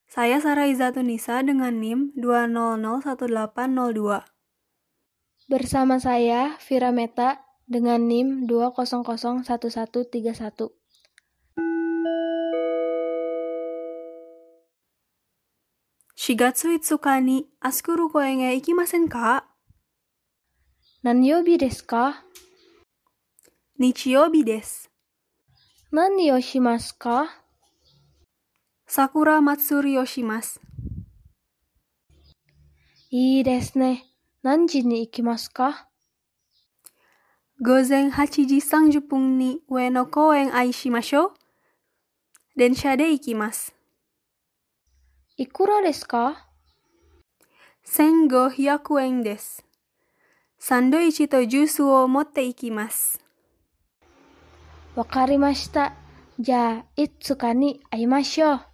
Saya Sarah Izatunisa dengan NIM 2001802. Bersama saya, Vira Meta, dengan NIM 2001131. Shigatsu Itsuka ni Asukuru koe ga ikimasen ka? Nanyobi desu ka? Nichiyoubi desu. Nani o shimasu ka? Sakura matsuri o shimasu. Ii desu ne. Nanji ni ikimasu ka? Gozen 8時30分に上野公園愛しましょう。電車で行きます。 Ikura desu ka? 1500円です。サンドイッチとジュースを持って行きます。 Wakarimashita. Ja, Itsuka ni aimashou.